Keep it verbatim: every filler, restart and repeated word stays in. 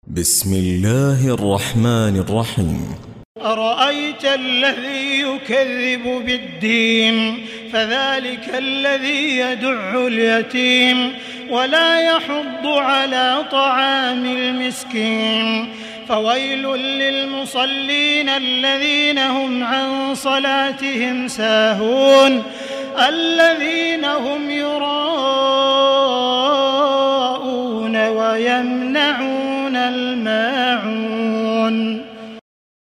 بسم الله الرحمن الرحيم. أرأيت الذي يكذب بالدين فذلك الذي يدع اليتيم ولا يحض على طعام المسكين فويل للمصلين الذين هم عن صلاتهم ساهون الذين هم يراءون